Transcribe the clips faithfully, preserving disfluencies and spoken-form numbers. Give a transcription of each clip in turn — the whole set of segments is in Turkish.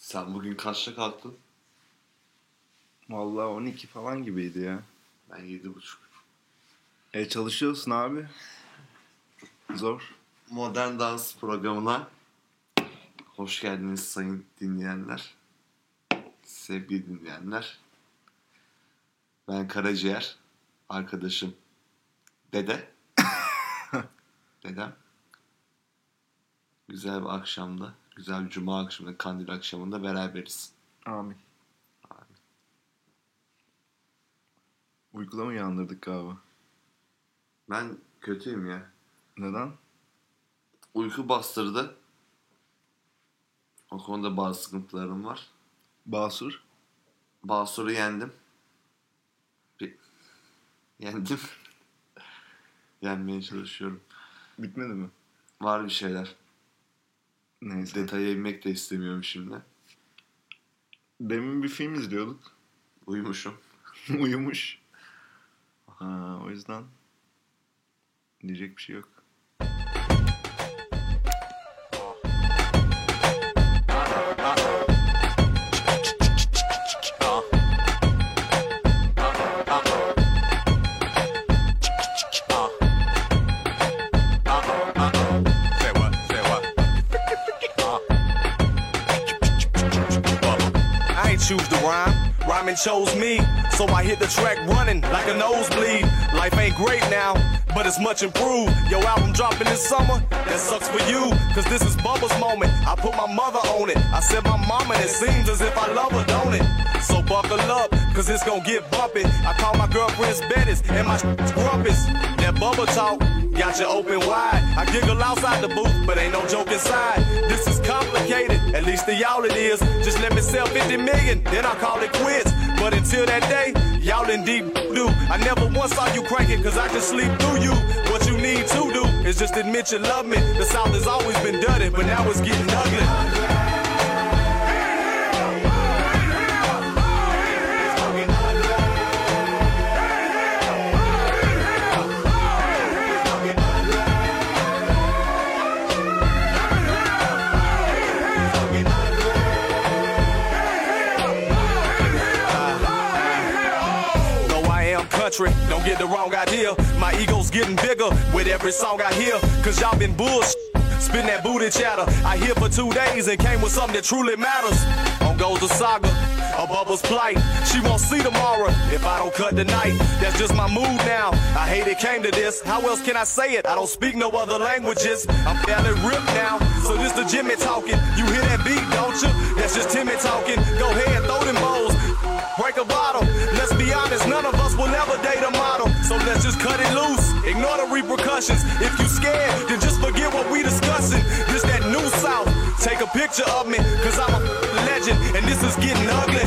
Sen bugün kaçta kalktın? Vallahi on iki falan gibiydi ya. Ben yedi buçuk. E çalışıyorsun abi. Zor. Modern Dans programına hoş geldiniz sayın dinleyenler. Sevgili dinleyenler. Ben Karaciğer. Arkadaşım Dede. Dedem. Güzel bir akşamda, güzel bir cuma akşamında, kandil akşamında beraberiz. Amin. Amin. Uykula mı uyandırdık galiba? Ben kötüyüm ya. Neden? Uyku bastırdı. O konuda bazı sıkıntılarım var. Basur? Basur'u yendim. Bir... Yendim. Yenmeye çalışıyorum. Bitmedi mi? Var bir şeyler. Neyse. Detaya inmek de istemiyorum şimdi. Demin bir film izliyorduk. Uyumuşum. Uyumuş. Ha, o yüzden diyecek bir şey yok. Choose the rhyme, rhyming chose me, so I hit the track running like a nosebleed. Life ain't great now, but it's much improved. Your album dropping this summer, that sucks for you, cause this is Bubba's moment. I put my mother on it, I said my mama, and it seems as if I love her, don't it? So buckle up, cause it's gon' get bumpy. I call my girlfriends Bettis, and my shit's grumpus. That Bubba talk got you open wide. I giggle outside the booth, but ain't no joke inside. This is complicated, at least to y'all it is. Just let me sell fifty million, then I'll call it quits. But until that day, y'all in deep doo. I never once saw you cranking, cause I just sleep through you. What you need to do is just admit you love me. The South has always been dirty, but now it's getting ugly. Don't get the wrong idea, my ego's getting bigger with every song I hear. Cause y'all been bullshit, spitting that booty chatter. I here for two days and came with something that truly matters. On goes the saga, a Bubba's plight. She won't see tomorrow if I don't cut tonight. That's just my mood now, I hate it came to this. How else can I say it? I don't speak no other languages. I'm fairly ripped now, so this the Jimmy talking. You hear that beat, don't you? That's just Timmy talking. Go ahead, throw them bowls, break a bottle. Let's be honest, none of us will ever date a model. So let's just cut it loose, ignore the repercussions. If you scared, then just forget what we discussing. This that new South, take a picture of me, cause I'm a legend, and this is getting ugly.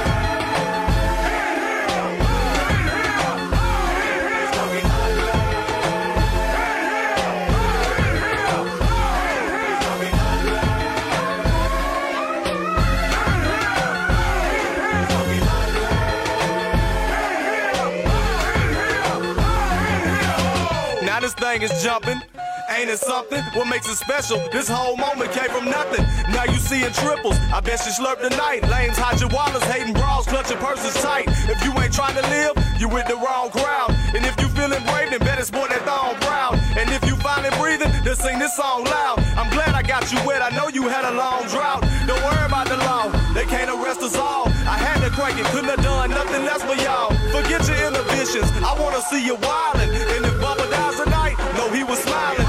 This thing is jumping, ain't it something? What makes it special? This whole moment came from nothing. Now you seeing triples, I bet you slurp tonight. Lames hide your wallets, hating bras, clutching purses tight. If you ain't trying to live, you with the wrong crowd. And if you feeling brave, then better sport that thong proud. And if you finally breathing, then sing this song loud. I'm glad I got you wet, I know you had a long drought. Don't worry about the law, they can't arrest us all. I had to crank it, couldn't have done nothing less for y'all. Forget your inhibitions, I wanna see you wildin'. And if Bubba dies tonight, know he was smiling.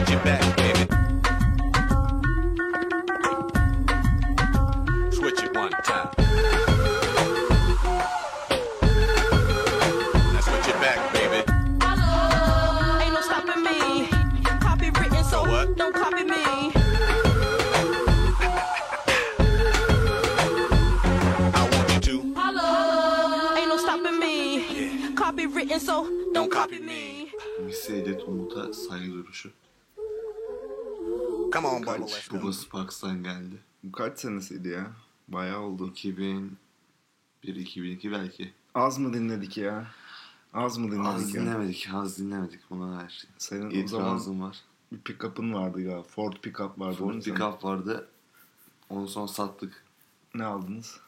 switch it back, baby. Switch it one time. Now switch it back, baby. Ain't no stopping me. Copywritten, so So what? don't copy me. I want you to. Ain't no stopping me. Copywritten, so don't copy me. Missy Elliott Umut'a saygı duruşu. Come on, Bubba, let's Kaç? go. Bubba Sparks'tan geldi. Bu kaç senesiydi ya? Bayağı oldu. iki bin bir iki bin iki belki. Az mı dinledik ya? Az mı dinledik Az ya? dinlemedik, az dinlemedik buna her şey. Senin o zaman İtirazım var. bir pick-up'ın vardı ya. Ford pick-up vardı. Ford değil mi senin? Pickup vardı. Onu son sattık. Ne aldınız?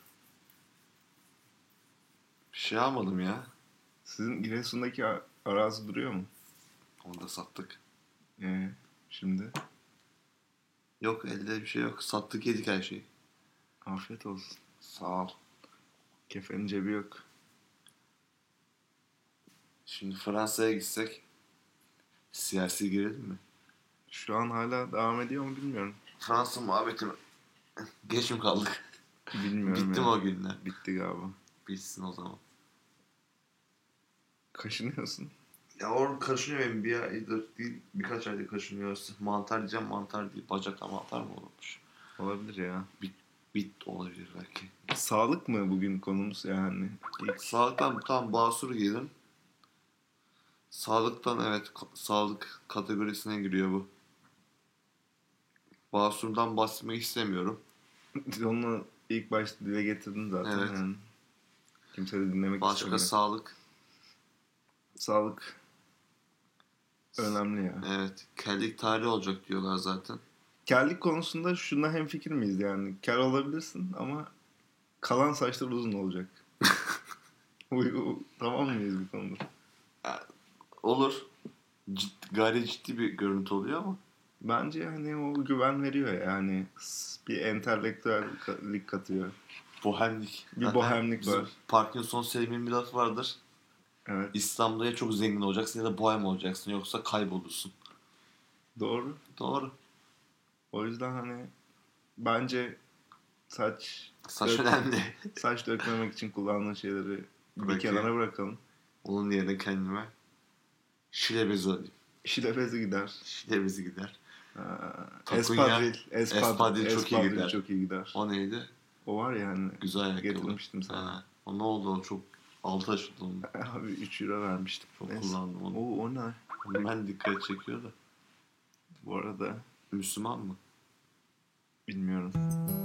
Bir şey almadım ya. Sizin Giresun'daki a- arazi duruyor mu? Onu da sattık. Ee, şimdi Yok, elde bir şey yok. Sattık, yedik her şeyi. afiyet olsun. Sağ ol. Kefenin cebi yok. Şimdi Fransa'ya gitsek siyasi girelim mi? Şu an hala devam ediyor mu bilmiyorum. Fransa muhabbeti mi? Geç mi kaldık? Bilmiyorum Bitti ya. mi o günler? Bitti galiba. Bitsin o zaman. Kaşınıyorsun. Ya orada kaşınıyor benim bir aydır değil, birkaç aydır kaşınıyoruz. Mantar diyeceğim, mantar değil. Bacakta mantar mı olmuş? Olabilir ya. Bit olabilir belki. Sağlık mı bugün konumuz yani? İlk Sağlıktan tam basur girdim. Sağlıktan evet, ka- sağlık kategorisine giriyor bu. Basur'dan bahsetmek istemiyorum. onu ilk başta dile getirdin zaten. Evet. Yani. Kimse de dinlemek Başka istemiyor. sağlık. Sağlık önemli ya. Evet. Kellik tarihi olacak diyorlar zaten. Kellik konusunda şuna hemfikir miyiz yani? Kel olabilirsin ama kalan saçlar uzun olacak. Uy- u- tamam mıyız bu konuda? Olur. Ciddi, gayri ciddi bir görüntü oluyor ama. Bence hani o güven veriyor yani. S- Bir entelektüellik katıyor. Bohemlik. Bir Zaten bohemlik bizim var. Parkinson Selim'in bir lafı vardır. Evet, İslam'da ya çok zengin olacaksın ya da bohem olacaksın. Yoksa kaybolursun. doğru. Doğru. O yüzden hani bence saç Saç dök- önemli. saç dökmemek için kullandığın şeyleri bir Bırakayım. kenara bırakalım. Onun yerine kendime şile bezi alayım. Şile bezi gider. Şile bezi gider. Ha, Takunya, Espadril. Espad, espadril çok iyi espadril gider. çok iyi gider. O neydi? O var ya hani. Güzel ayakkabı. Getirmiştim sana. Ha. O ne oldu? O çok altı açıldı onu. Abi üç euro vermiştim. Çok Neyse. kullandım onu. Oo, o ne? Ben dikkat çekiyor da. Bu arada Müslüman mı? bilmiyorum.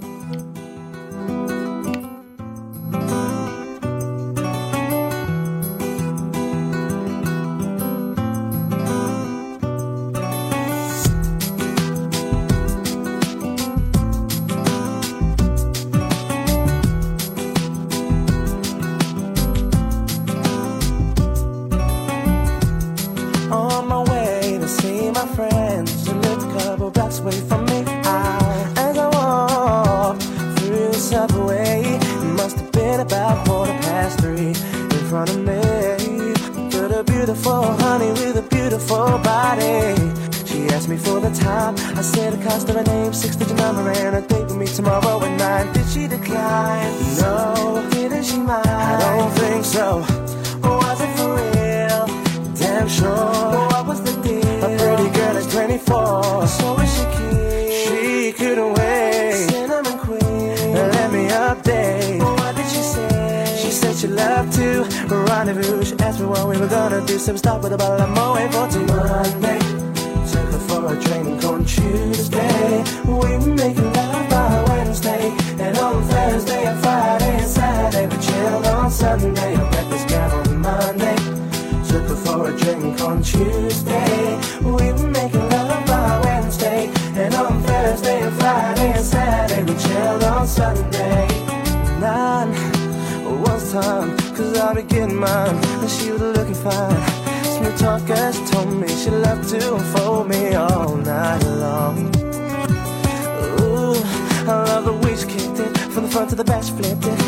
On my way to see my friends who lived a couple blocks away from me. I, as I walked through the subway, it must have been about quarter past three. In front of me, stood a beautiful honey with a beautiful body. She asked me for the time. I said the cost of her name, six-digit number, and a date with me tomorrow at nine. Did she decline? No. Didn't she mind? I don't think so. Was it for real? Damn sure. What was the deal? A pretty girl at twenty-four. So is she keen? She couldn't wait. Cinnamon queen. Let me update. What did she say? She said she loved to rendezvous. She asked me what we were gonna do. So we stopped with a bottle of Moët for till Monday. Took her for a drink on Tuesday. We were making love by Wednesday. And on Thursday and Friday and Saturday we chilled on Sunday. I met this gal on Monday. Took her for a drink on Tuesday. We were making love by Wednesday. And on Thursday and Friday and Saturday we chilled on Sunday. Nine was time, cause I'll be getting mine. And she was looking fine. Smooth talker, she told me she loved to unfold me all night long. Ooh, I love the way she kicked it. From the front to the back she flipped it.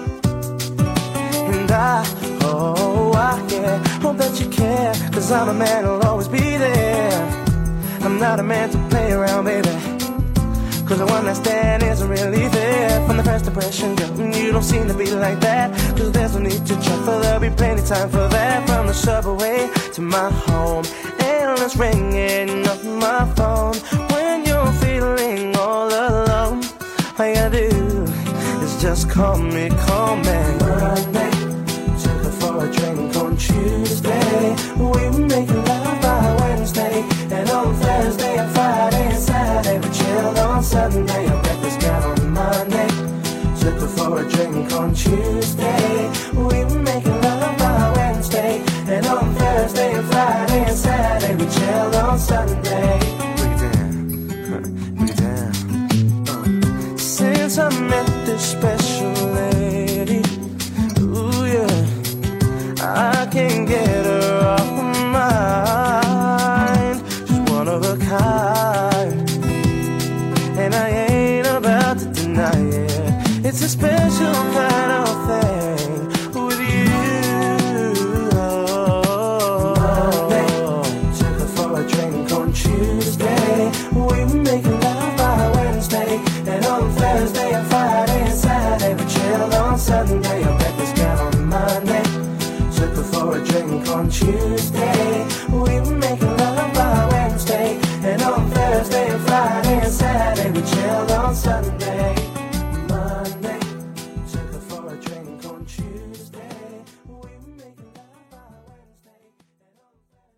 And I, oh, I, yeah, hope that you care. Cause I'm a man who'll always be there. I'm not a man to play around, baby. Cause the one night stand isn't really fair. From the first impression, girl, you don't seem to be like that. Cause there's no need to try, for there'll be plenty time for that. From the subway to my home, endless ringing off my phone. When you're feeling all alone, all you gotta do is just call me, call me. Monday, took her for a drink on Tuesday. We were making love by Wednesday. And on Thursday and Friday and Saturday we chilled on Sunday. I met this girl on Monday, took her for a drink on Tuesday. We were making love by Wednesday. And on Thursday and Friday and Saturday we chilled on Sunday. Break it down, break it down. uh. Since I met this special lady, ooh yeah, I can't get her off my mind. She's one of a kind, and I ain't about to deny it. It's a special kind of thing with you. Monday, took her for a drink on Tuesday. We were making love by Wednesday. And on Thursday and Friday and Saturday we chilled on Sunday. I met this girl on Monday, took her for a drink on Tuesday. We were making love by Wednesday. And on Thursday and Friday and Saturday we chilled on Sunday. Monday, took her for a drink on Tuesday. We were making love by Wednesday. And on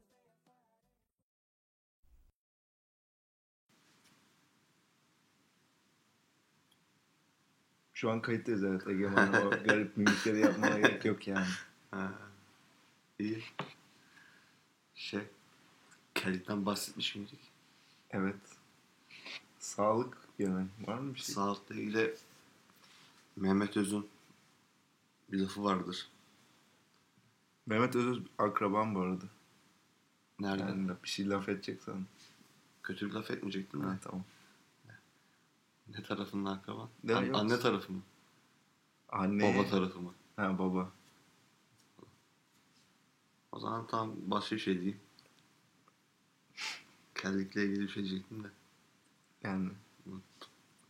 Şu an kayıttayız, evet Egemen. O garip mimikleri yapmana gerek yok yani. Ha, iyi. Şey, Kelly'den bahsetmiş miydik? Evet. Sağlık gene. Var mı bir şey? Sağlıkla ilgili Mehmet Öz'ün bir lafı vardır. Mehmet Öz akrabam bu arada. Nereden? Yani bir şey laf edeceksen. Kötü bir laf etmeyecektin mi? Ha, tamam. Ne tarafının akraban? Ne An- yok? anne tarafı mı? Anne. Baba tarafı mı? Ha, baba. O zaman tam başka bir şey diyeyim. Kelly'le ilgili bir şey diyecektim de. Yani Unuttum.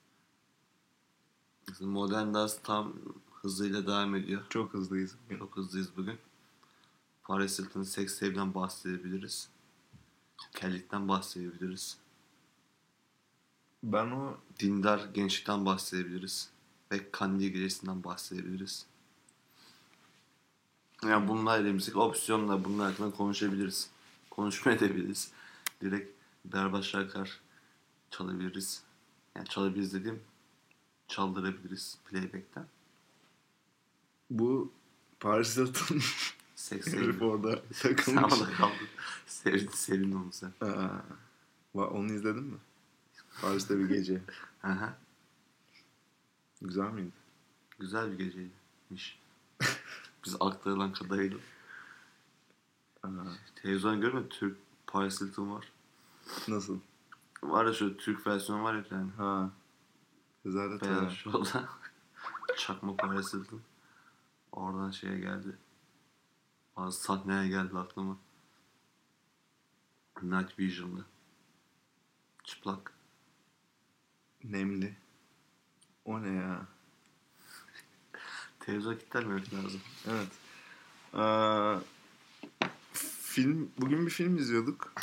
Mesela Modern Dance tam hızıyla devam ediyor. çok hızlıyız. Çok hızlıyız bugün. Paris Hilton'ın Sex Tape'den bahsedebiliriz. Kelly'den bahsedebiliriz. Ben o Dindar gençlikten bahsedebiliriz. Ve Kandil gecesinden bahsedebiliriz. Yani bunlar elimizdeki opsiyonla bunlar hakkında konuşabiliriz. Konuşma edebiliriz. Direkt berbat şarkılar çalabiliriz. Yani çalabiliriz dediğim çaldırabiliriz playback'ten. bu Paris Hilton Sex herif Tape. orada Sen takılmış. orada kaldın. Sevdin, sevdin onu sen. Aa, va- onu izledin mi? Paris'te bir gece. Aha. Güzel miydi? Güzel bir geceymiş. Biz aktarılan kadarıyla. Aa, Televizyon görmedin, Türk Paris Hilton var. nasıl? Var ya şöyle Türk versiyonu var ya bir tane. Ha. Rezalet Beyaz ya. Show'da. Çakma Paris Hilton. Oradan şeye geldi. Bazı sahneye geldi aklıma. Night Vision'da. Çıplak. Nemli. O ne ya? Televizyon kilitlenmemek lazım. Evet. Aa, film, bugün bir film izliyorduk.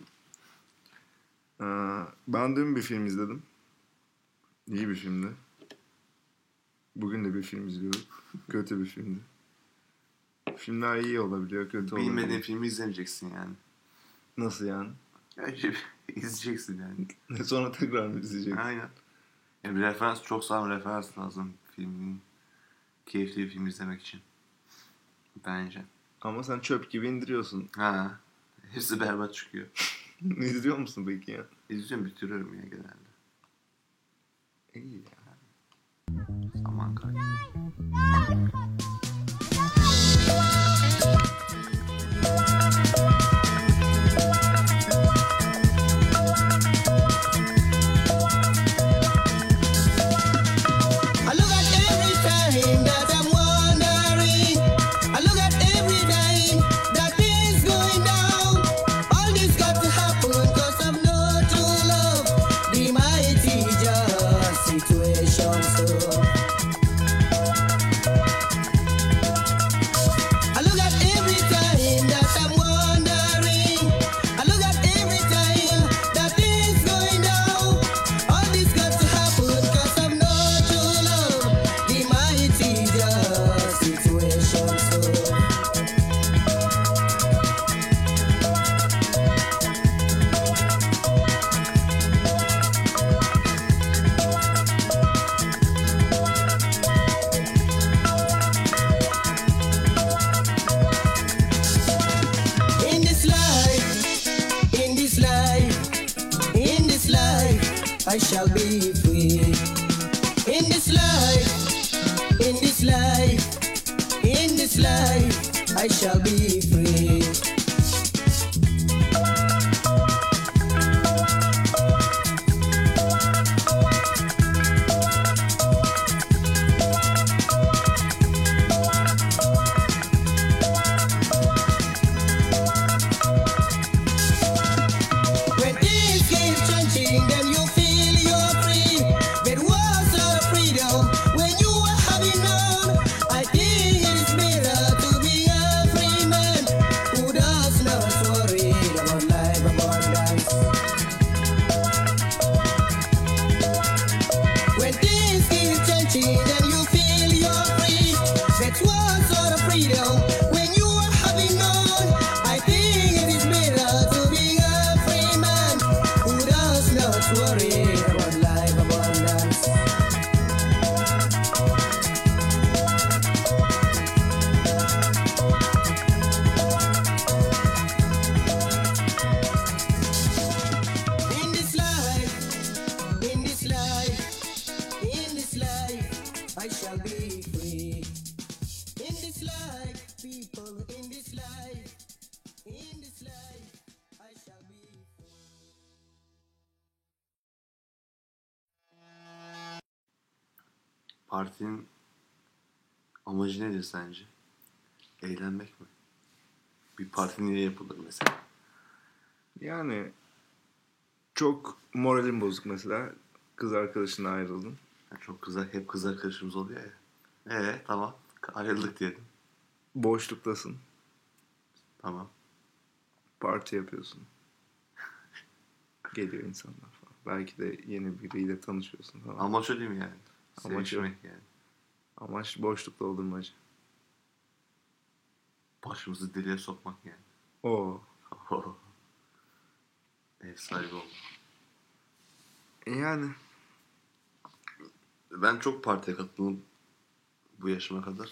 Aa, ben dün bir film izledim. İyi bir filmdi. Bugün de bir film izliyorduk. Kötü bir filmdi. Filmler iyi olabiliyor, kötü olabiliyor. Bilmediğin filmi izlemeyeceksin yani. Nasıl yani? Önce bir izleyeceksin yani. Sonra tekrar mı izleyeceksin? Aynen. Yani bir referans, çok sağlam referans lazım filmin. Keyifli bir film izlemek için. Bence. Ama sen çöp gibi indiriyorsun. Ha. Hepsi berbat çıkıyor. İzliyor musun peki ya? İzliyorum, bitiriyorum ya genelde. İyi ya. Zaman kaybı. I look at every time that I'm wondering. I look at every time that things going down. All this got to happen 'cause of no I shall be free. In this life, in this life, in this life, I shall be free. When things keep changing, then you feel you're free. There was a freedom when you were having none. I think it is better to be a free man who does not worry about life abundance. When things keep changing, then you feel you're free. That was sort of freedom when you were having none. I think it is better to be a free man who does not worry about life abundance. In this life, in this life, in this life, I shall be free. In this life, people, in this life, in this life, I shall be free. Partinin amacı nedir sence? Eğlenmek mi? Bir parti niye yapılır mesela? Yani çok moralim bozuk mesela. Kız arkadaşına ayrıldın. Ya çok kız, hep kız arkadaşımız oluyor ya. Ee tamam. Ayrıldık diyelim. Boşluktasın. Tamam. Parti yapıyorsun. Geliyor insanlar falan. Belki de yeni biriyle tanışıyorsun falan. Amaç o değil mi yani? Amaç o. Sevişmek yani. Amaç boşluk doldurmacı. Başımızı deliğe sokmak yani. Oo. Ev sahibi olmak. Yani Ben çok partiye katıldım bu yaşıma kadar.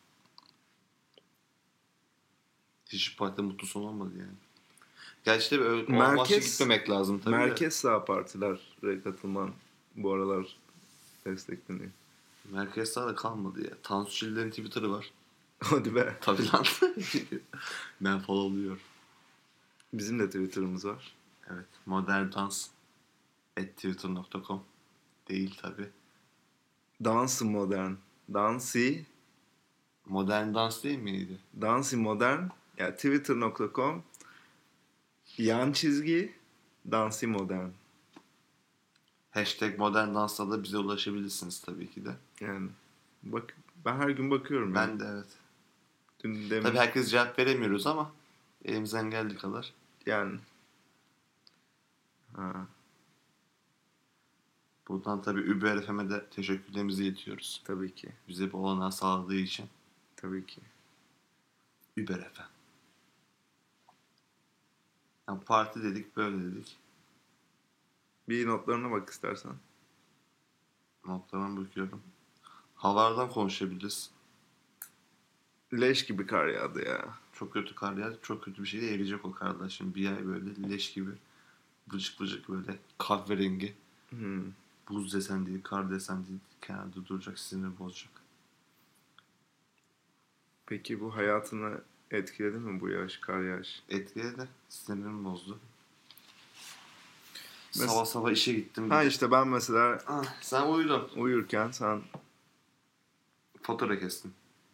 Hiç partide mutlu son olmadı yani. Gerçi de öyle o amaçla Merkez- gitmemek lazım tabii de. merkez sağ partilere katılman bu aralar destekleniyor. Merkez sağda kalmadı ya. Tansu Çiller'in Twitter'ı var. Hadi be. Tabii lan. Ben followluyorum. Bizim de Twitter'ımız var. Evet. Modern dans at twitter nokta com değil tabii. Dansı modern. Dansi. Modern dans değil miydi? Dansi modern. Ya twitter nokta com yan çizgi dansi modern. Hashtag modern dansla da bize ulaşabilirsiniz tabii ki de. Yani bak ben her gün bakıyorum. Ben yani. de evet. Dün demin, Tabii herkes cevap veremiyoruz ama elimizden geldiği kadar. yani ha, Buradan tabii Uber F M'e de teşekkürlerimizi iletiyoruz. tabii ki. Bize bu olanağı sağladığı için. Tabii ki. Uber F M. Yani parti dedik, böyle dedik. Bir notlarına bak istersen. Notlarına bakıyorum. Havalardan konuşabiliriz. Leş gibi kar yağdı ya. Çok kötü kar yağdı. Çok kötü bir şey de eriyecek o karlar. Şimdi bir ay böyle leş gibi. Bıcık bıcık böyle kahverengi. Hmm. Buz desen değil, kar desen değil. Kenarda duracak, sinir bozacak. Peki bu hayatını etkiledi mi bu yağış, kar yağış? Etkiledi. Sinirimi bozdu. Mes- Sabah sabah işe gittim. Ha işte ben mesela Ah, sen uyudun. uyurken sen Fatura kestin.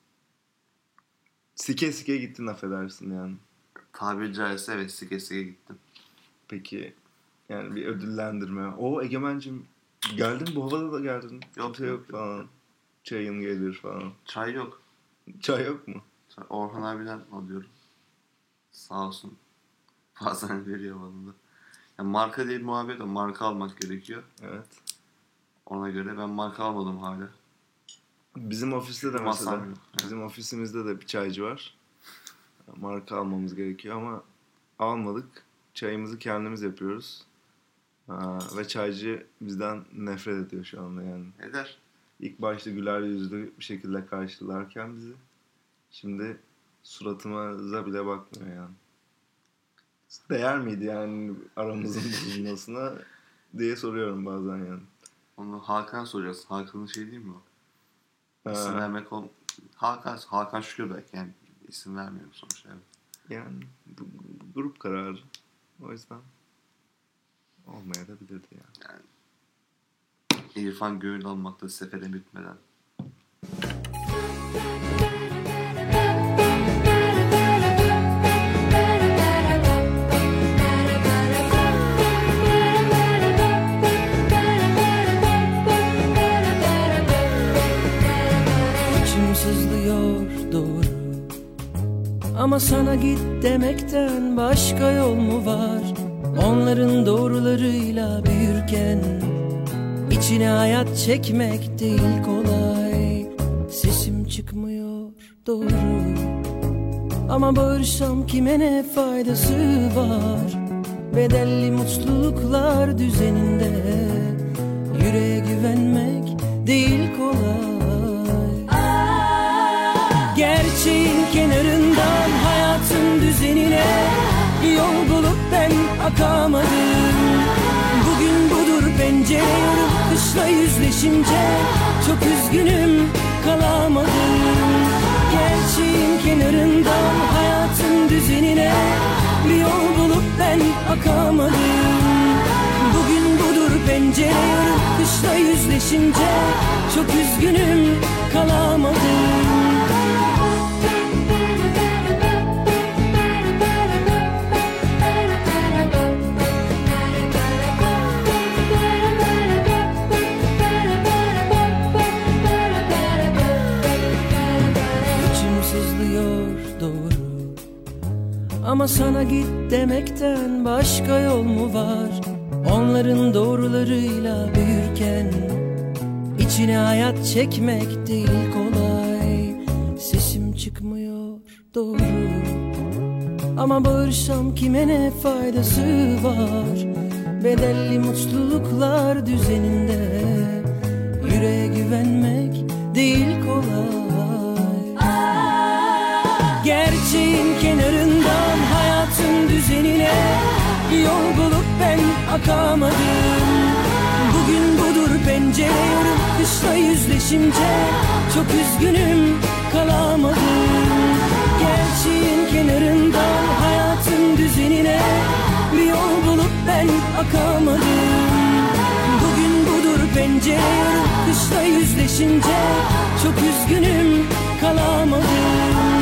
sike sike gittin affedersin yani. Tabiri caizse evet sike sike gittim. Peki yani bir ödüllendirme. O Egemen'cim geldin bu havada da geldin. Yok, Kimse yok yok, falan. Çayın gelir falan. Çay yok. Çay yok mu? Çay- Orhan abiden alıyorum. Sağ olsun. Bazen veriyor bana da. Yani marka değil muhabbet o. Marka almak gerekiyor. Evet. Ona göre ben marka almadım hala. Bizim ofiste de Masam mesela yok. bizim ofisimizde de bir çaycı var. Marka almamız gerekiyor ama almadık. Çayımızı kendimiz yapıyoruz. Ha, ve çaycı bizden nefret ediyor şu anda yani. Eder. İlk başta güler yüzlü bir şekilde karşılarken bizi şimdi suratımıza bile bakmıyor yani. Değer miydi yani aramızın bozulmasına? diye soruyorum bazen yani. Onu Hakan soracaksın. Hakan'ın şey değil mi o? Ha. İsim vermek ol... Hakan, Hakan Şükür belki yani isim vermiyorum sonuçta. Evet. Yani bu, bu grup kararı. O yüzden olmayabilirdi yani. Yani İrfan gönül almakta sefere bitmeden. İçim sızlıyor doğru, ama sana git demekten başka yol mu var? Onların doğrularıyla büyürken İçine hayat çekmek değil kolay. Sesim çıkmıyor doğru, ama bağırsam kime ne faydası var? Bedelli mutluluklar düzeninde yüreğe güvenmek değil kolay. Gerçeğin kenarından hayatın düzenine yol bulup ben akamadım. Bugün budur pencere yarıp kışla yüzleşince çok üzgünüm, kalamadım. Gerçeğin kenarından hayatın düzenine bir yol bulup ben akamadım. Bugün budur pencere yarıp kışla yüzleşince çok üzgünüm, kalamadım. Ama sana git demekten başka yol mu var? Onların doğrularıyla büyürken içine hayat çekmek değil kolay. Sesim çıkmıyor doğru, ama bağırsam kime ne faydası var? Bedelli mutluluklar düzeninde yüreğe güvenmek değil kolay. Gerçeğin kenarından hayatın düzenine yol bulup ben akamadım. Bugün budur pencere yarıp kışla yüzleşince çok üzgünüm, kalamadım. Gerçeğin kenarından hayatın düzenine bir yol bulup ben akamadım. Bugün budur pencere yarıp kışla yüzleşince çok üzgünüm, kalamadım.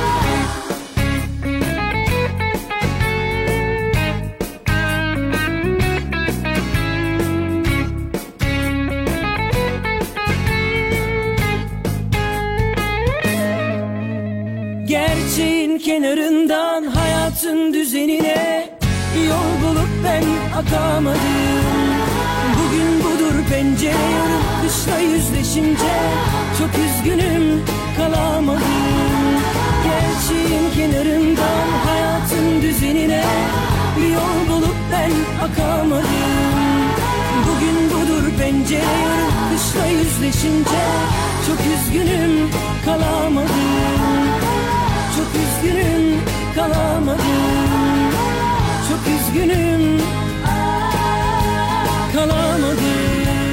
Gerçeğin kenarından hayatın düzenine yol bulup ben akamadım. Bugün budur pencere yarıp kışla yüzleşince çok üzgünüm, kalamadım. Gerçeğin kenarından hayatın düzenine bir yol bulup ben akamadım. Bugün budur pencere yarıp kışla yüzleşince çok üzgünüm, kalamadım. Çok üzgünüm, kalamadım. Çok üzgünüm, kalamadım.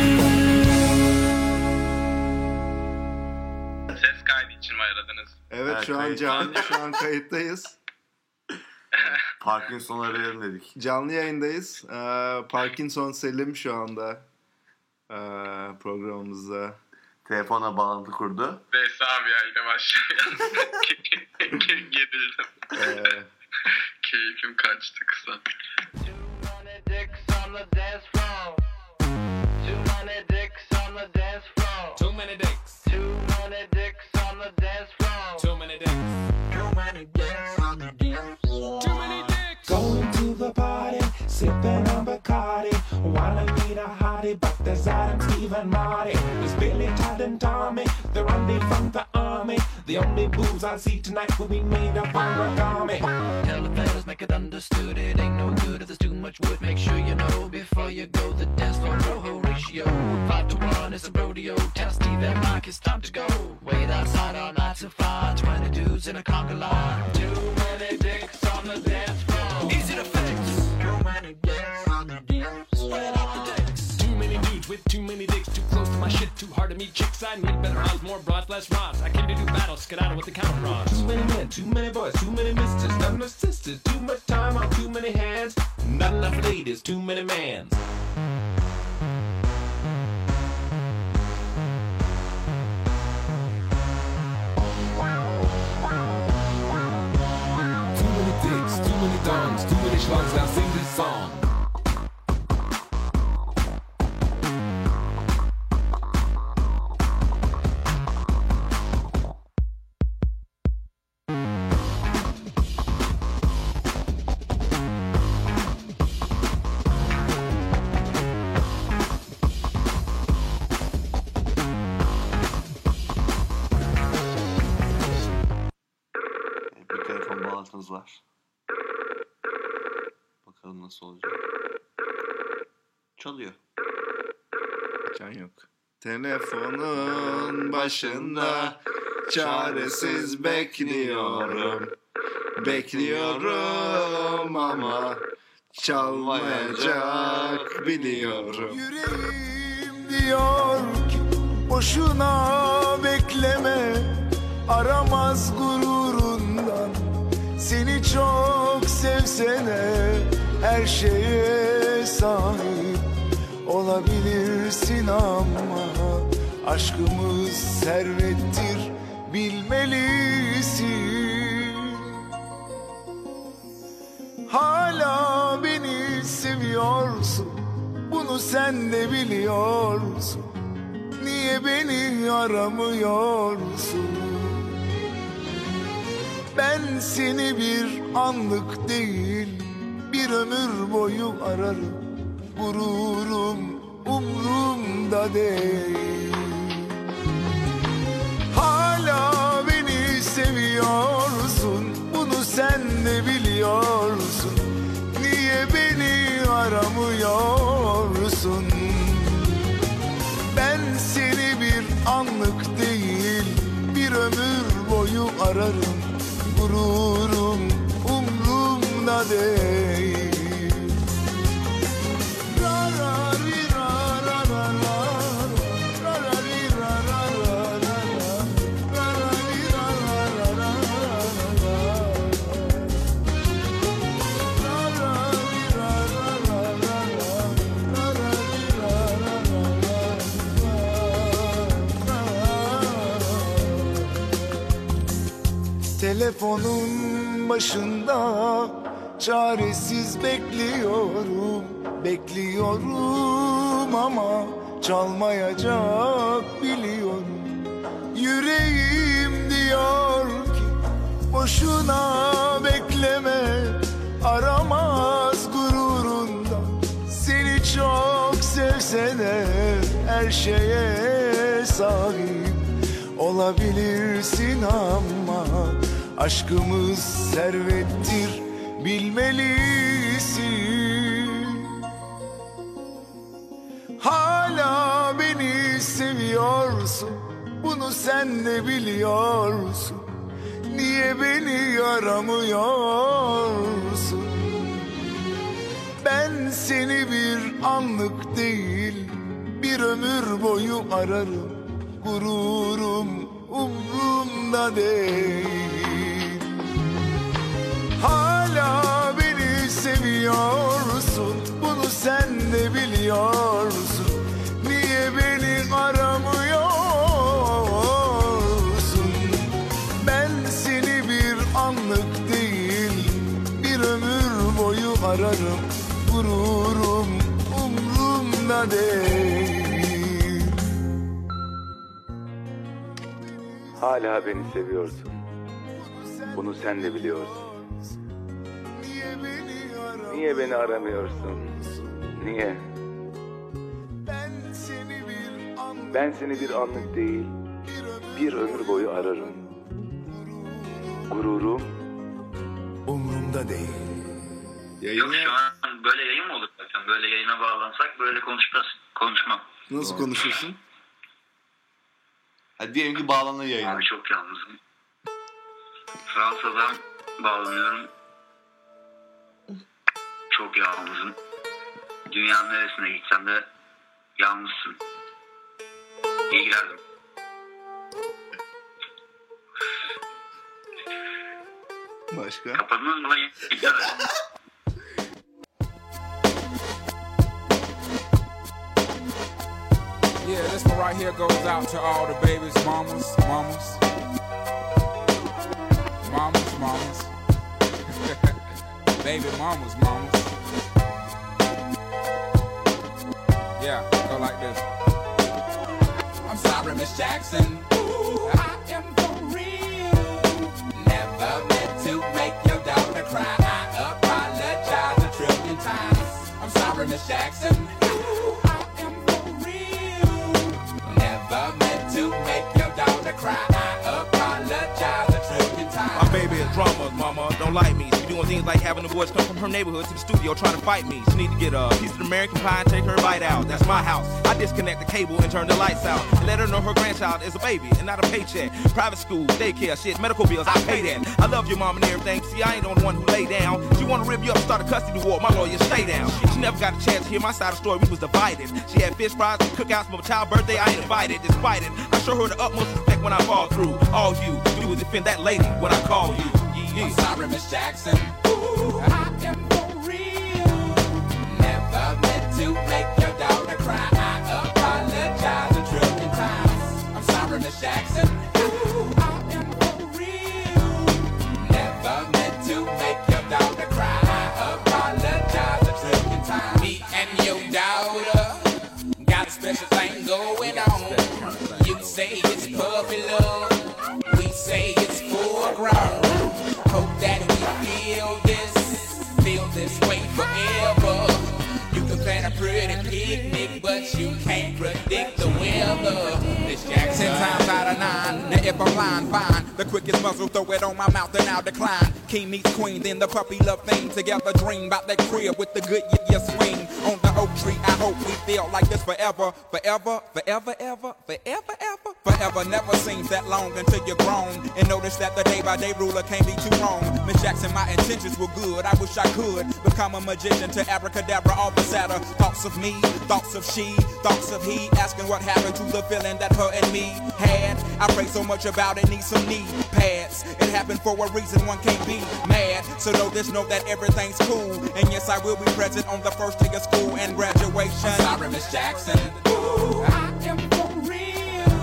Ses kaydı için mi aradınız? Evet, Evet, şu an kayıt. canlı, şu an kayıttayız. Parkinson arayalım dedik. Canlı yayındayız. Ee, Parkinson Selim şu anda ee, programımızda. Telefona bağlantı kurdu. Neyse abi ya yine başlayalım. Gerildim. Ee, Keyfim kaçtı kısa. Too many dicks on the dance floor. Too many dicks on the dance floor. Too many dicks. Too many dicks on the dance floor. Too many dicks. Too many dicks on the dance floor. Too many dicks. Going to the party, sipping on Bacardi. Wanna meet a hottie, but there's Adam, Steve, and Marty. There's Billy, Todd, and Tommy. They're only from the army. The only booze I see tonight will be made up on origami. Tell the fellas, make it understood. It ain't no good if there's too much wood. Make sure you know before you go. The dance floor rojo ratio. Five to one, it's a rodeo. Tell Steve and Mike it's time to go. Wait outside all night to find twenty dudes in a conga line. Too many dicks on the dance floor. Easy to fix. Too many dicks on the dance floor. Spread out the dicks. much rhymes. I came to do battle, skedaddle with the counter bronze. Too many men, too many boys, too many misters, not enough sisters. Too much time on too many hands. Not enough ladies, too many mans. Too many dicks, too many dongs, too many schlongs. Now sing this song. Bir telefon bağlantımız var. Bakalım nasıl olacak. Çalıyor. Can yok. Telefonun başında çaresiz bekliyorum. Bekliyorum ama çalmayacak biliyorum. Yüreğim diyor ki boşuna bekleme, aramaz gururundan. Seni çok sevsene, her şeye sahip olabilirsin ama aşkımız servettir, bilmelisin. Hala beni seviyorsun, bunu sen de biliyorsun. Niye beni aramıyorsun? Ben seni bir anlık değil, bir ömür boyu ararım. Gururum umrumda değil. Hala beni seviyorsun, bunu sen de biliyorsun. Niye beni aramıyorsun? Ben seni bir anlık değil, bir ömür boyu ararım. Gururum umrumda değil. Telefonun başında çaresiz bekliyorum, bekliyorum ama çalmayacak biliyorum. Yüreğim diyor ki boşuna bekleme, aramaz gururundan. Seni çok sevsene, her şeye sahip olabilirsin ama aşkımız servettir, bilmelisin. Hala beni seviyorsun, bunu sen de biliyorsun. Niye beni aramıyorsun? Ben seni bir anlık değil, bir ömür boyu ararım. Gururum umrumda değil. Hala beni seviyorsun, bunu sen de biliyorsun. Niye beni aramıyorsun? Ben seni bir anlık değil, bir ömür boyu ararım. Gururum umrumda değil. Hala beni seviyorsun, bunu sen de biliyorsun. Niye beni aramıyorsun? Niye? Ben seni bir anlık değil, bir ömür boyu ararım. Gururum umrumda değil. Yok şu an böyle yayın mı olur zaten? Böyle yayına bağlansak böyle konuşmaz. Konuşmam. Nasıl konuşursun? Hadi diyelim ki bağlanır yayına. Abi çok yalnızım. Fransa'dan bağlanıyorum. Çok yalnızım. Dünyanın neresine gitsem de yalnızsın. İyi girerdim. Başka? Kapadınız mı? İptal edin. Yeah, this one right here goes out to all the babies, mamas, mamas. Mamas, mamas. Baby mamas, mamas. Yeah, go like this. I'm sorry, Miss Jackson. Ooh, I am for real. Never meant to make your daughter cry. I apologize a trillion times. I'm sorry, Miss Jackson. Ooh, I am for real. Never meant to make your daughter cry. I apologize a trillion times. My baby is drama, mama. Don't like me. She doing things like having the boys come from her neighborhood to the studio trying to fight me. She need to get a piece of American pie and take her bite out. That's my house. I disconnect the cable and turn the lights out. And let her know her grandchild is a baby and not a paycheck. Private school, daycare, shit, medical bills, I pay that. I love your mom and everything. See, I ain't the only one who lay down. She wanna rip you up, start a custody war. My lawyer, stay down. She never got a chance to hear my side of the story. We was divided. She had fish fries and cookouts for my child's birthday. I ain't invited. Despite it, I show her the utmost respect when I fall through. All you, you will defend that lady when I call you. Yeah. I'm sorry, Miss Jackson. Ooh, I am for real. Never meant to make your daughter cry. I apologize a trillion times. I'm sorry, Miss Jackson. Ooh, I am for real. Never meant to make your daughter cry. I apologize a trillion times. Me and your daughter got a special thing going on. You say it's puppy love. We say it's full grown. Hope that we feel this, feel this way forever. You can plan a pretty picnic, but you can't predict the weather. Miss Jackson, ten times out of nine. Now if I'm lying, fine. The quickest muzzle, throw it on my mouth and I'll decline. King meets queen, then the puppy love thing. Together dream about that crib with the good yeah, yeah swing. On the oak tree, I hope we feel like this forever. Forever, forever, ever, forever, ever. Forever never seems that long until you're grown. And notice that the day by day ruler can't be too wrong. Miss Jackson, my intentions were good. I wish I could become a magician to abracadabra all the sadder. Thoughts of me, thoughts of she, thoughts of he. Asking what happened to the feeling that her and me had. I pray so much about it, need some knee pads. It happened for a reason, one can't be mad. So know this, know that everything's cool. And yes, I will be present on the first day of school and graduation. I'm sorry, Miss Jackson. Ooh, I am for real.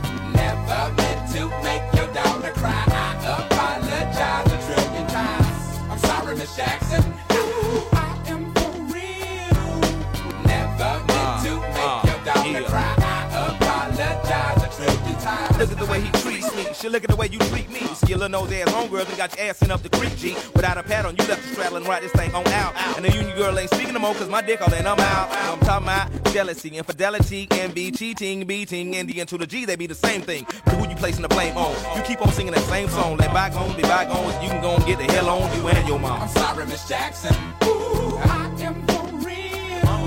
Never meant to make your daughter cry. I apologize a trillion times. I'm sorry, Miss Jackson. Ooh, I am for real. Never meant to make your daughter cry. I apologize a trillion times. Look at the way he treats me. Shit, look at the way you treat me. Skillin' nose ass homegirls and got your ass sent up the creek, G. Without a pad on, you left the straddle and ride this thing on out. And the union girl ain't speaking no more cause my dick all in, I'm out. I'm talking about jealousy, infidelity, envy, cheating, beating, and the N to the G, they be the same thing. But who you placing the blame on? You keep on singing that same song. Let bygones be bygones, you can go and get the hell on you and your mom. I'm sorry, Miss Jackson. Ooh, I am for real.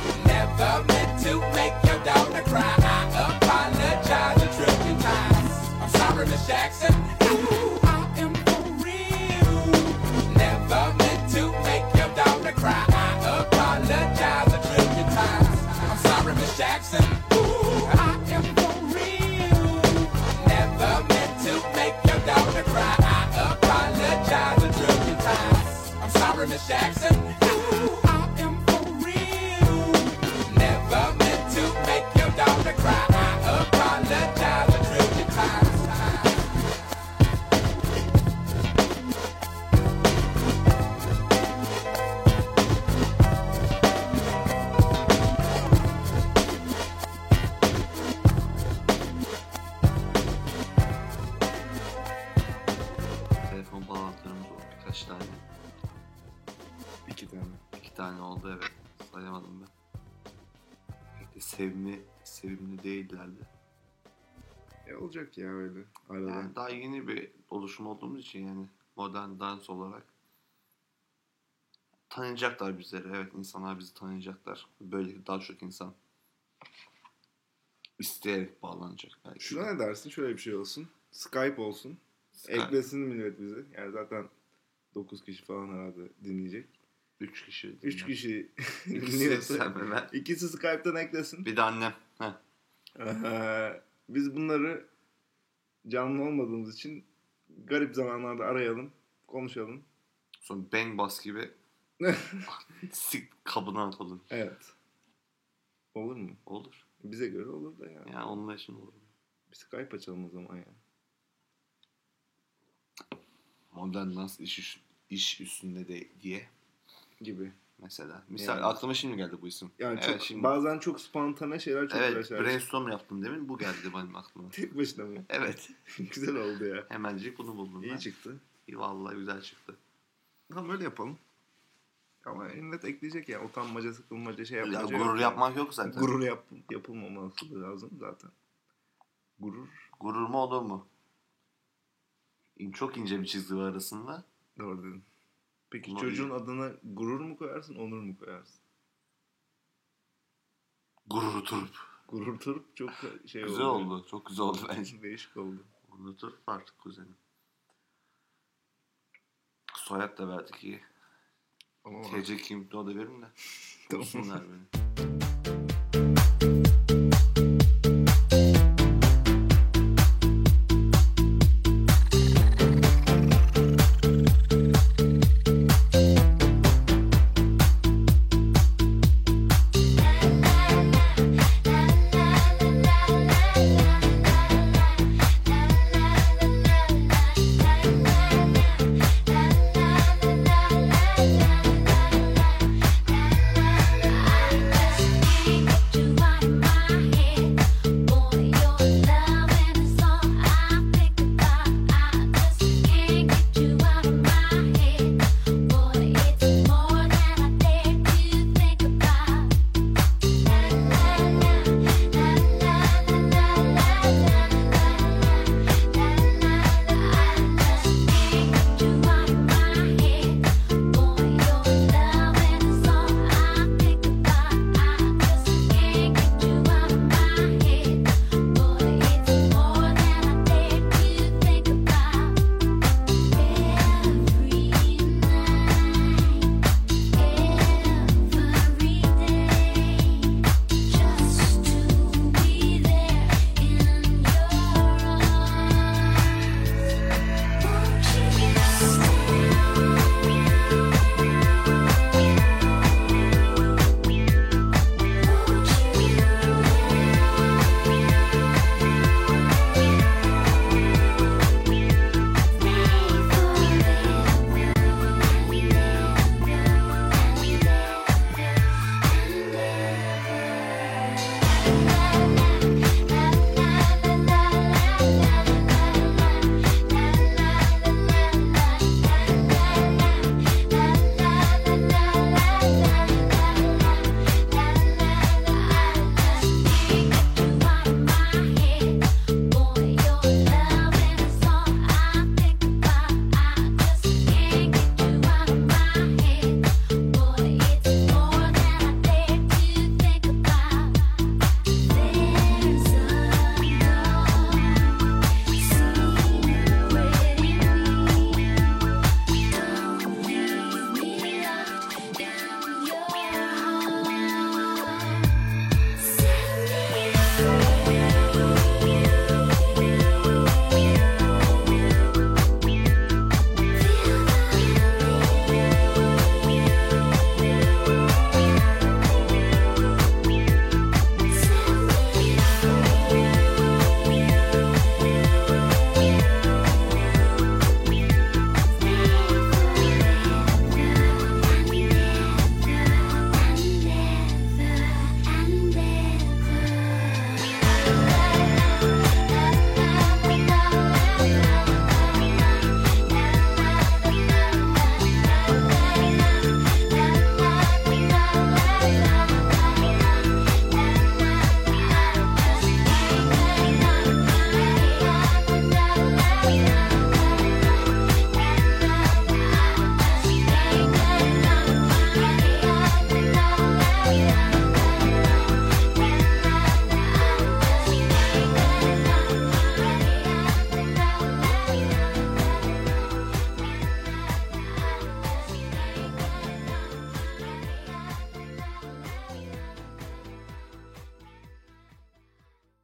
Never meant to make your daughter cry. I apologize a trillion times. I'm sorry, Miss Jackson. Ooh, I am for real. Never meant to make your daughter cry. I apologize a trillion times. I'm sorry, Miss Jackson. Ooh, I am for real. Never meant to make your daughter cry. I apologize a trillion times. I'm sorry, Miss Jackson. Ooh, I am for real. Never meant to make your daughter cry. I apologize a trillion times. Telefon bağlantılarımız oldu birkaç tane. İki tane. İki tane oldu, evet. Sayamadım ben. Pek de sevimli, sevimli değillerdi. E olacak ya öyle. Arada. Yani daha yeni bir oluşum olduğumuz için, yani modern dans olarak tanıyacaklar bizleri. Evet, insanlar bizi tanıyacaklar. Böyle daha çok insan isteyerek bağlanacak belki. Şuna ne dersin? Şöyle bir şey olsun. Skype olsun. Skype. Eklesin millet bizi. Yani zaten dokuz kişi falan herhalde dinleyecek. üç kişi. üç kişi İkisi dinliyorsa. sen ve ben. İkisi Skype'tan eklesin. Bir de annem. Heh. Ee, biz bunları canlı olmadığımız için garip zamanlarda arayalım. Konuşalım. Sonra bang bas gibi sik kabına atalım. Evet. Olur mu? Olur. Bize göre olur da yani. Ya onun için olur. Bir Skype açalım o zaman ya. Modern dans iş, üst- iş üstünde de diye. Gibi. Mesela. Misal Yani. aklıma şimdi geldi bu isim. Yani Evet, çok, şimdi. bazen çok spontane şeyler çok Evet, güzel şeyler. brainstorm yaptım demin. Bu geldi benim aklıma. Tek başına mı? Evet. Güzel oldu ya. Hemencik bunu buldum İyi ben. çıktı. İyi, vallahi güzel çıktı. Tamam öyle yapalım. Ama millet ekleyecek ya. Utanmaca, sıkılmaca şey Ya, yapmaca gurur yok. yapmak yok zaten. Gurur yap, yapılmaması lazım zaten. Gurur. Gurur mu olur mu? İn- Çok ince bir çizgi var arasında. Doğru dedin. Peki Bunu çocuğun iyi. adına gurur mu koyarsın, onur mu koyarsın? Gurur Turp. Gurur Turp çok şey Güzel oldu. oldu. Çok güzel oldu bence. Değişik oldu. Gurur Turp var kuzenim. Soyad da verdik iyi. Ama T C kimlikte o da verin de. Tamam. Bulsunlar beni.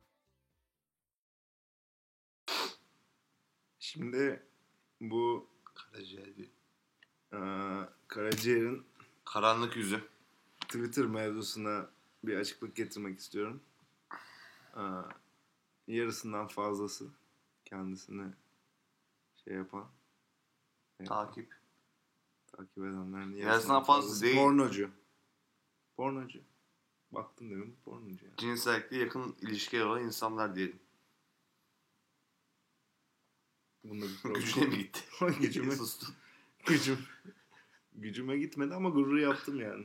Şimdi bu Karaciğer değil. Ee, Karaciğer'in Karanlık yüzü. Twitter mevzusuna bir açıklık getirmek istiyorum. Ee, yarısından fazlası kendisini şey yapan, Takip. takip edenlerin Yarısından fazlası değil. Pornocu. Pornocu. Baktın değil mi? Pornocu yani. Cinsellikle yakın ilişkiler olan insanlar diyelim. Bunda bir problem. Gücüne mi gitti? gücüme, Sustun. gücüm, gücüme gitmedi ama gurur yaptım yani.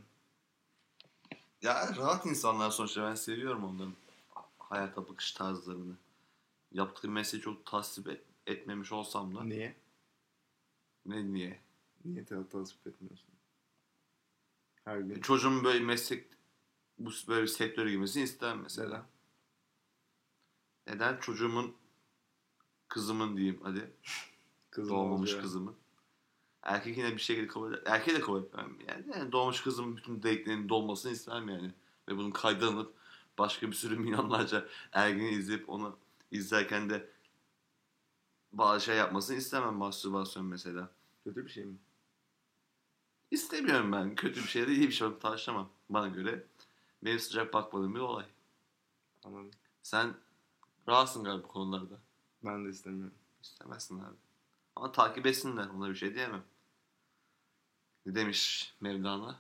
Ya rahat insanlar sonuçta, ben seviyorum onların hayata bakış tarzlarını. Yaptığı mesleği çok tasvip et, etmemiş olsam da. Niye? Ne niye? Niye te- tasvip etmiyorsun? Her gün. Çocuğumun böyle meslek, bu böyle bir sektöre girmesini istemem mesela. Neden? Neden? Çocuğumun, kızımın diyeyim hadi. Kızım doğmamış oluyor. kızımın. Erkek yine bir şekilde kabul eder. Erkeği de kabul etmem yani. yani. Doğmuş kızımın bütün deliklerinin dolmasını istemem yani. Ve bunun kaydlanıp başka bir sürü milyonlarca ergeni izleyip onu izlerken de bazı şey yapmasını istemem. Mastürbasyon mesela. Kötü bir şey mi? İstemiyorum ben. Kötü bir şey de iyi bir şey. Onu tartışamam. Bana göre benim sıcak bakmadığım bir olay. Anladım. Sen rahatsın galiba bu konularda. Ben de istemiyorum. İstemezsin abi. Ama takip etsinler. Ona bir şey diyemem. Ne demiş Mevlana?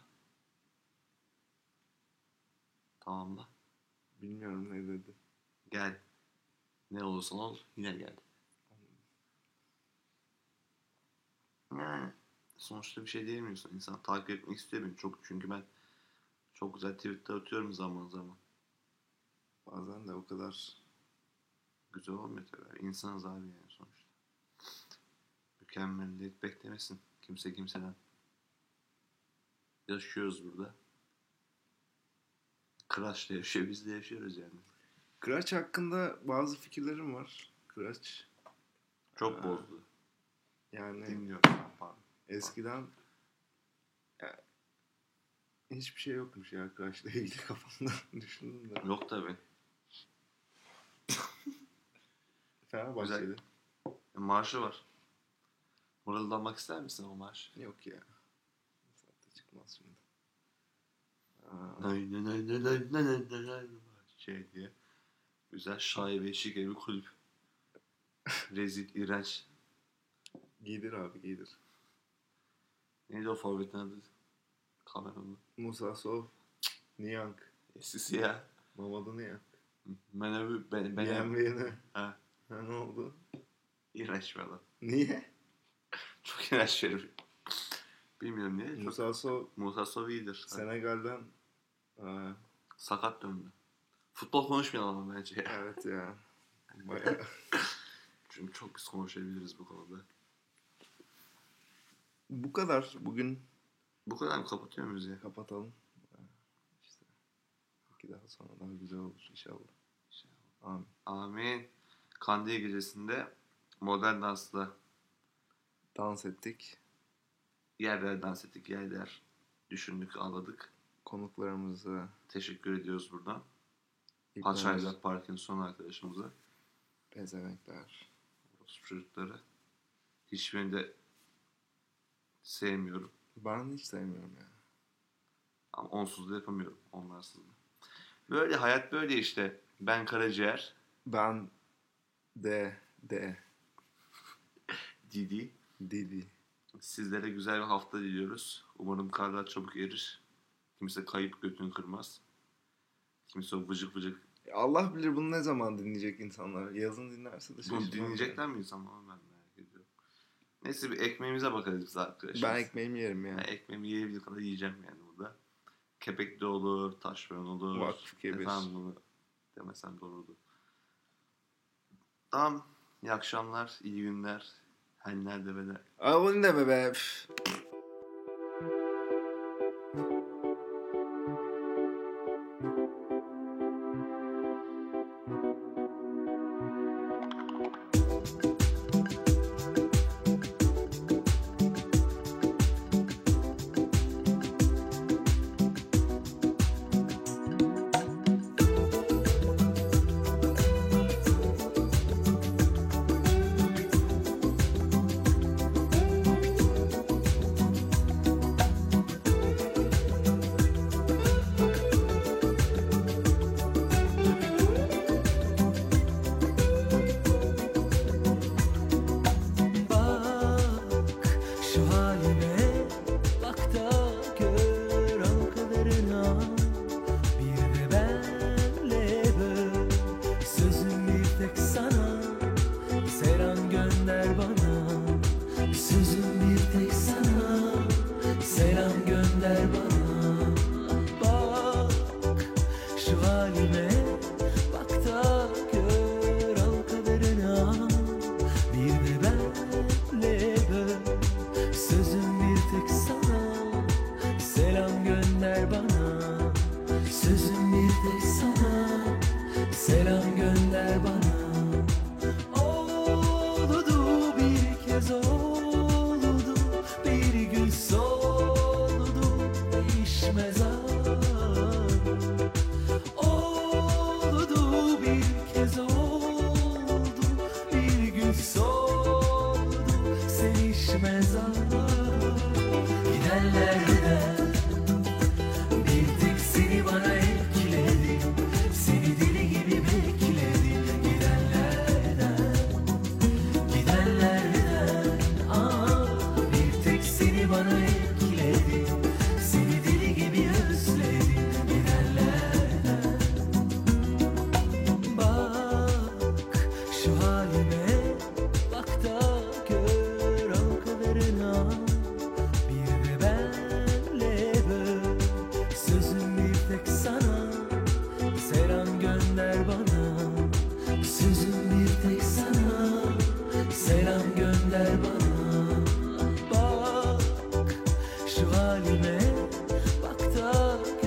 Tamamla. Bilmiyorum ne dedi. Gel. Ne olursan ol yine gel. Yani sonuçta bir şey diyemiyorsun. İnsan takip etmek istiyor beni çok. Çünkü ben çok güzel tweetler atıyorum zaman zaman. Bazen de o kadar güzel olmuyor tabii. İnsanız abi yani sonuçta. Mükemmelliyet beklemesin kimse kimseden. Yaşıyoruz burada. Kıraç da yaşıyor, biz de yaşıyoruz yani. Kıraç hakkında bazı fikirlerim var. Kıraç çok Aa, bozdu. Yani dinliyorum. Pardon. Eskiden ya, hiçbir şey yokmuş ya Kıraç'la ilgili kafamda düşündüm de. Yok tabii. Fenerbahçe'de. Marşı var. Mırıldanmak ister misin o marş? Yok ya. Zaten çıkmaz şimdi. Nay nay nay nay nay nay nay nay nay şey diye. Güzel şaibe şike bir kulüp. Rezil, iğrenç. Giydir abi giydir. Neydi o forvetin adı? Kamerunlu. Musa Sov. Niyank. Eskisi ya. Mamadou Niyank. Menevi ben ben. Beğenmeyene. Ha. Ha ne oldu? İğrenç bir adam. Niye? Çok iğrenç bir herif. Bilmiyorum niye. Musa Sov. Musa Sov iyidir. Senegal'den aa, sakat döndü. Futbol konuşmayalım ama bence ya. Evet ya. Bayağı. Çünkü çok biz konuşabiliriz bu konuda. Bu kadar bugün. Bu kadar mı kapatıyor muyuz ya? Kapatalım. İşte. İki daha sonra daha güzel olur inşallah. İnşallah. Amin. Amin. Kandil gecesinde modern dansla dans ettik. Yerler dans ettik, yerler düşündük, ağladık. Konuklarımıza teşekkür ediyoruz buradan. İlk Paçayla Parkinson arkadaşımıza. Pezevenkler. Çocukları. Hiçbirini de sevmiyorum. Ben hiç sevmiyorum ya. Ama onsuz da yapamıyorum. Onlarsız da. Böyle hayat böyle işte. Ben Karaciğer. Ben de de Didi. Didi. Sizlere güzel bir hafta diliyoruz. Umarım karlar çabuk erir. Kimse kayıp götünü kırmaz. Kimse o vıcık vıcık. Allah bilir bunu ne zaman dinleyecek insanlar. Yazın dinlerse de Bunu şaşırmam. dinleyecekler mi insan? Ben merak ediyorum. Neyse bir ekmeğimize bakarız biz arkadaşlar. Ben ekmeğimi yerim ya. Ben ekmeğimi yiyebildiği kadar yiyeceğim yani burada. Kepekli olur, taşveron olur. Vakfı kebir. Efendim bunu demesem doğrudur. Tamam. İyi akşamlar, iyi günler. Her nerede ve de. Aa bunu deme be. gönder bana. Bak şu halime, bak da gör al kaderine. Bir de benle böl, sözüm bir tek sana. Selam gönder bana, sözüm bir tek sana. Selam gönder bana. Oldu bir kez oldu, bir gün soldu, değişmez ağır. Oldu bir kez oldu, bir gün soldu, sevişmez ağır. Gidenler gider, bir tek seni bana ekledi, seni deli gibi bekledi. Gidenlerden, gidenlerden, ah, bir tek seni bana ekledi, seni deli gibi özledi. Gidenlerden, bak şu halime, bak da gör al kaderine. Bir de benle böl, sözüm bir tek sana. Selam gönder bana, sözüm bir tek sana. Selam gönder bana. Bak şu halime, bak da